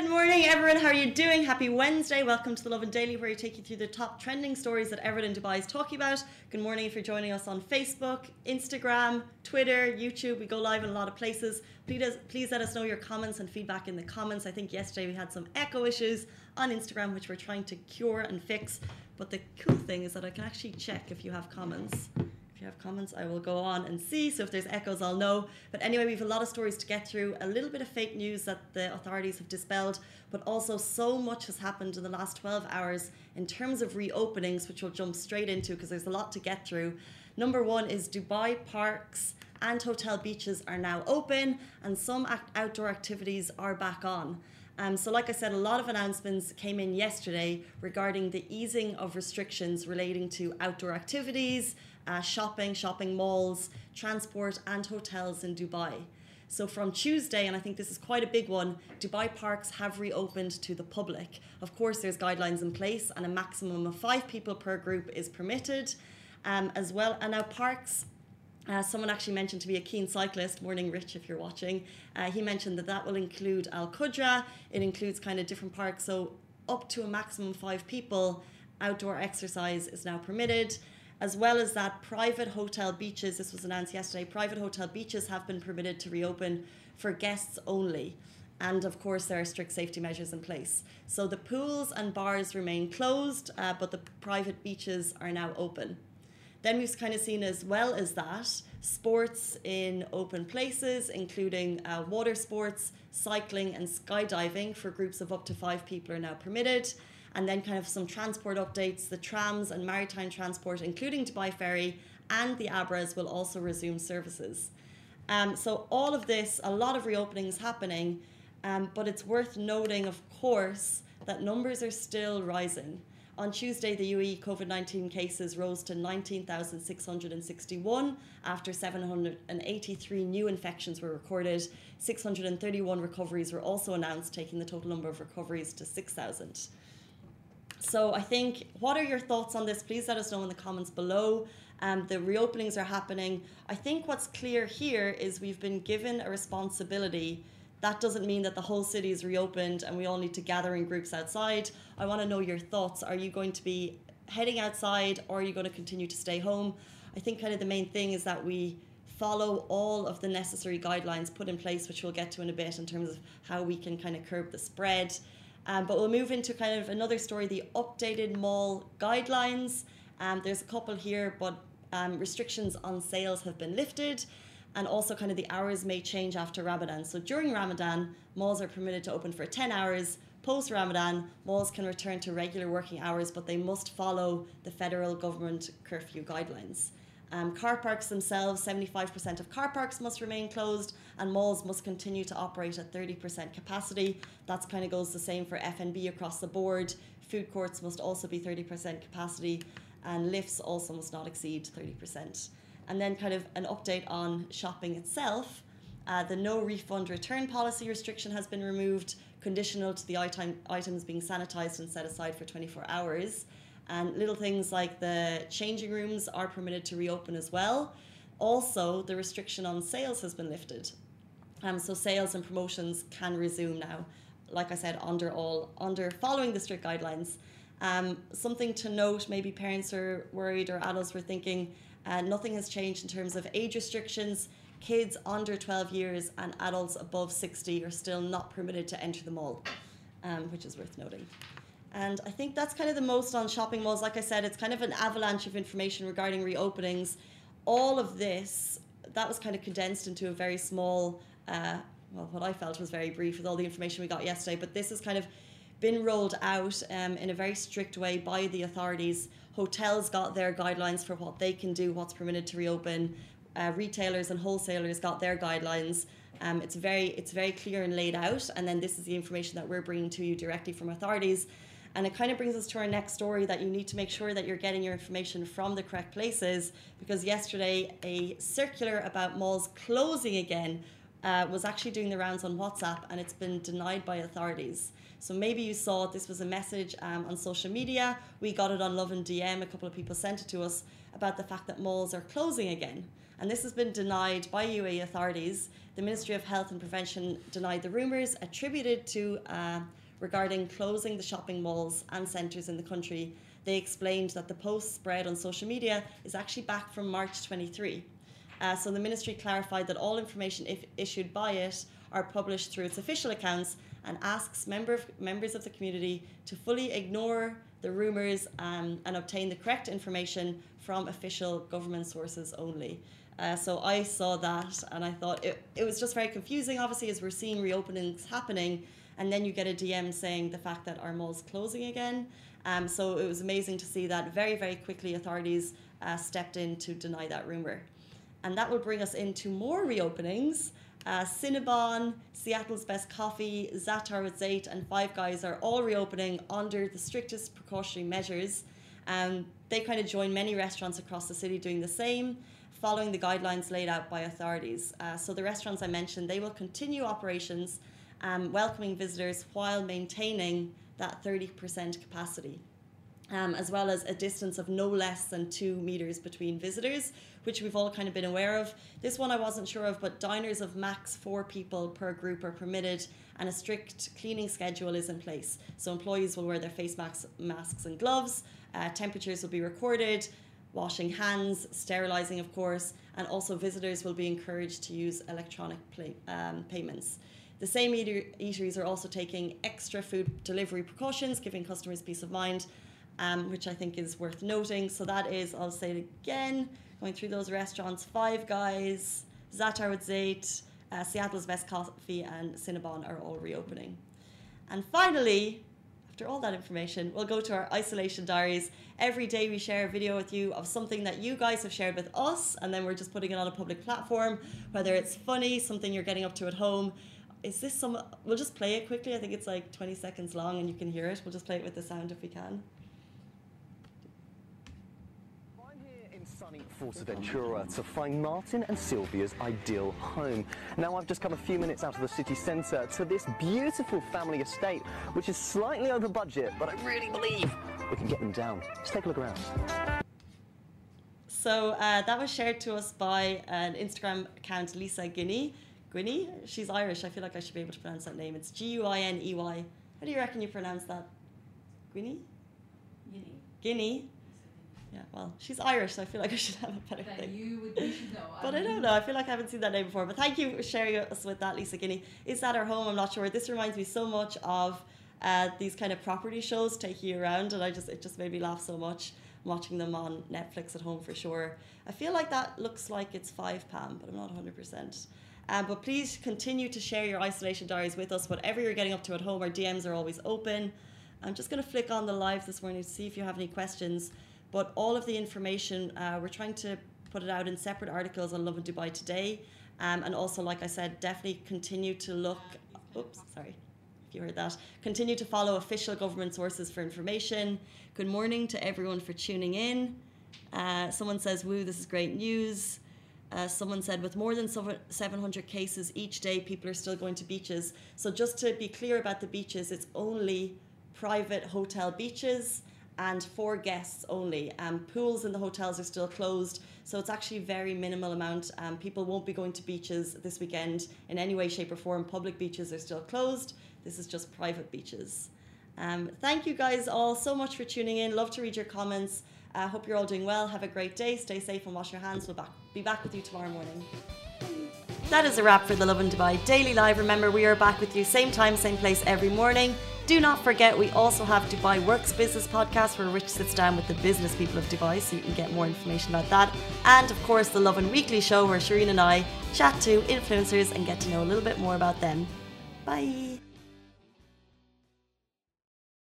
Good morning, everyone. How are you doing? Happy Wednesday. Welcome to the Lovin Daily, where we take you through the top trending stories that everyone in Dubai is talking about. Good morning if you're joining us on Facebook, Instagram, Twitter, YouTube. We go live in a lot of places. Please let us know your comments and feedback in the comments. I think yesterday we had some echo issues on Instagram, which we're trying to cure and fix. But the cool thing is that I can actually check if you have comments. If you have comments, I will go on and see. So if there's echoes, I'll know. But anyway, we have a lot of stories to get through. A little bit of fake news that the authorities have dispelled, but also so much has happened in the last 12 hours in terms of reopenings, which we'll jump straight into because there's a lot to get through. Number one is Dubai parks and hotel beaches are now open, and some outdoor activities are back on. So like I said, a lot of announcements came in yesterday regarding the easing of restrictions relating to outdoor activities, shopping malls, transport and hotels in Dubai. So from Tuesday, and I think this is quite a big one, Dubai parks have reopened to the public. Of course, there's guidelines in place and a maximum of 5 people per group is permitted as well. And now parks, someone actually mentioned to be a keen cyclist, morning Rich if you're watching, he mentioned that will include Al Qudra, it includes kind of different parks, so up to a maximum of 5 people, outdoor exercise is now permitted. As well as that, private hotel beaches, this was announced yesterday, private hotel beaches have been permitted to reopen for guests only. And of course, there are strict safety measures in place. So the pools and bars remain closed, but the private beaches are now open. Then we've kind of seen, as well as that, sports in open places, including water sports, cycling and skydiving for groups of up to 5 people are now permitted. And then kind of some transport updates, the trams and maritime transport, including Dubai Ferry and the Abras, will also resume services. So all of this, a lot of reopenings happening, but it's worth noting, of course, that numbers are still rising. On Tuesday, the UAE COVID-19 cases rose to 19,661 after 783 new infections were recorded. 631 recoveries were also announced, taking the total number of recoveries to 6,000. So I think, what are your thoughts on this? Please let us know in the comments below. The reopenings are happening. I think what's clear here is we've been given a responsibility. That doesn't mean that the whole city is reopened and we all need to gather in groups outside. I want to know your thoughts. Are you going to be heading outside, or are you going to continue to stay home? I think kind of the main thing is that we follow all of the necessary guidelines put in place, which we'll get to in a bit, in terms of how we can kind of curb the spread. But we'll move into kind of another story, the updated mall guidelines. There's a couple here, but restrictions on sales have been lifted. And also kind of the hours may change after Ramadan. So during Ramadan, malls are permitted to open for 10 hours. Post-Ramadan, malls can return to regular working hours, but they must follow the federal government curfew guidelines. Car parks themselves, 75% of car parks must remain closed, and malls must continue to operate at 30% capacity. That kind of goes the same for F&B across the board. Food courts must also be 30% capacity, and lifts also must not exceed 30%. And then kind of an update on shopping itself. The no refund return policy restriction has been removed, conditional to the items being sanitized and set aside for 24 hours. And little things like the changing rooms are permitted to reopen as well. Also, the restriction on sales has been lifted. So sales and promotions can resume now, like I said, under following the strict guidelines. Something to note, maybe parents are worried or adults were thinking, nothing has changed in terms of age restrictions. Kids under 12 years and adults above 60 are still not permitted to enter the mall, which is worth noting. And I think that's kind of the most on shopping malls. Like I said, it's kind of an avalanche of information regarding reopenings. All of this, that was kind of condensed into a very small, well, what I felt was very brief with all the information we got yesterday. But this has kind of been rolled out in a very strict way by the authorities. Hotels got their guidelines for what they can do, what's permitted to reopen. Retailers and wholesalers got their guidelines. It's very clear and laid out. And then this is the information that we're bringing to you directly from authorities. And it kind of brings us to our next story, that you need to make sure that you're getting your information from the correct places, because yesterday a circular about malls closing again was actually doing the rounds on WhatsApp, and it's been denied by authorities. So maybe you saw it. This was a message on social media. We got it on Lovin DM. A couple of people sent it to us about the fact that malls are closing again. And this has been denied by UAE authorities. The Ministry of Health and Prevention denied the rumours attributed to regarding closing the shopping malls and centres in the country. They explained that the post spread on social media is actually back from March 23. So the ministry clarified that all information issued by it are published through its official accounts and asks members of the community to fully ignore the rumours and obtain the correct information from official government sources only. So I saw that and I thought it was just very confusing, obviously, as we're seeing reopenings happening, and then you get a DM saying the fact that our mall's closing again. So it was amazing to see that very, very quickly authorities stepped in to deny that rumour. And that will bring us into more reopenings. Cinnabon, Seattle's Best Coffee, Zaatar with Zayt and Five Guys are all reopening under the strictest precautionary measures. They kind of join many restaurants across the city doing the same, following the guidelines laid out by authorities. So the restaurants I mentioned, they will continue operations, welcoming visitors while maintaining that 30% capacity. As well as a distance of no less than 2 meters between visitors, which we've all kind of been aware of. This one I wasn't sure of, but diners of max 4 people per group are permitted, and a strict cleaning schedule is in place. So employees will wear their face masks and gloves, temperatures will be recorded, washing hands, sterilising of course, and also visitors will be encouraged to use electronic payments. The same eateries are also taking extra food delivery precautions, giving customers peace of mind, which I think is worth noting. So that is, I'll say it again, going through those restaurants: Five Guys, Zaatar with Zayt, Seattle's Best Coffee and Cinnabon are all reopening. And finally, after all that information, we'll go to our isolation diaries. Every day we share a video with you of something that you guys have shared with us, and then we're just putting it on a public platform, whether it's funny, something you're getting up to at home. Is this we'll just play it quickly. I think it's like 20 seconds long and you can hear it. We'll just play it with the sound if we can. Sunny Fuerteventura to find Martin and Sylvia's ideal home. Now I've just come a few minutes out of the city centre to this beautiful family estate, which is slightly over budget, but I really believe we can get them down. Let's take a look around. So that was shared to us by an Instagram account, Lisa Guiney. Guiney? She's Irish. I feel like I should be able to pronounce that name. It's Guiney. How do you reckon you pronounce that? Guiney? Guinea? Yeah, well, she's Irish, so I feel like I should have a better thing. You should know. But I don't know. I feel like I haven't seen that name before. But thank you for sharing us with that, Lisa Guiney. Is that our home? I'm not sure. This reminds me so much of these kind of property shows taking you around, and it just made me laugh so much watching them on Netflix at home for sure. I feel like that looks like it's 5 pound, but I'm not 100%. But please continue to share your isolation diaries with us. Whatever you're getting up to at home, our DMs are always open. I'm just going to flick on the live this morning to see if you have any questions. But all of the information, we're trying to put it out in separate articles on Lovin Dubai today. And also, like I said, definitely continue to look... Oops, sorry if you heard that. Continue to follow official government sources for information. Good morning to everyone for tuning in. Someone says, woo, this is great news. Someone said, with more than 700 cases each day, people are still going to beaches. So just to be clear about the beaches, it's only private hotel beaches and for guests only. Pools in the hotels are still closed, so it's actually very minimal amount. People won't be going to beaches this weekend in any way, shape or form. Public beaches are still closed. This is just private beaches. Thank you guys all so much for tuning in. Love to read your comments. Hope you're all doing well. Have a great day. Stay safe and wash your hands. We'll be back with you tomorrow morning. That is a wrap for the Lovin Dubai Daily Live. Remember, we are back with you same time, same place every morning. Do not forget, we also have Dubai Works Business Podcast, where Rich sits down with the business people of Dubai, so you can get more information about that. And of course, the Lovin Weekly Show, where Shireen and I chat to influencers and get to know a little bit more about them. Bye.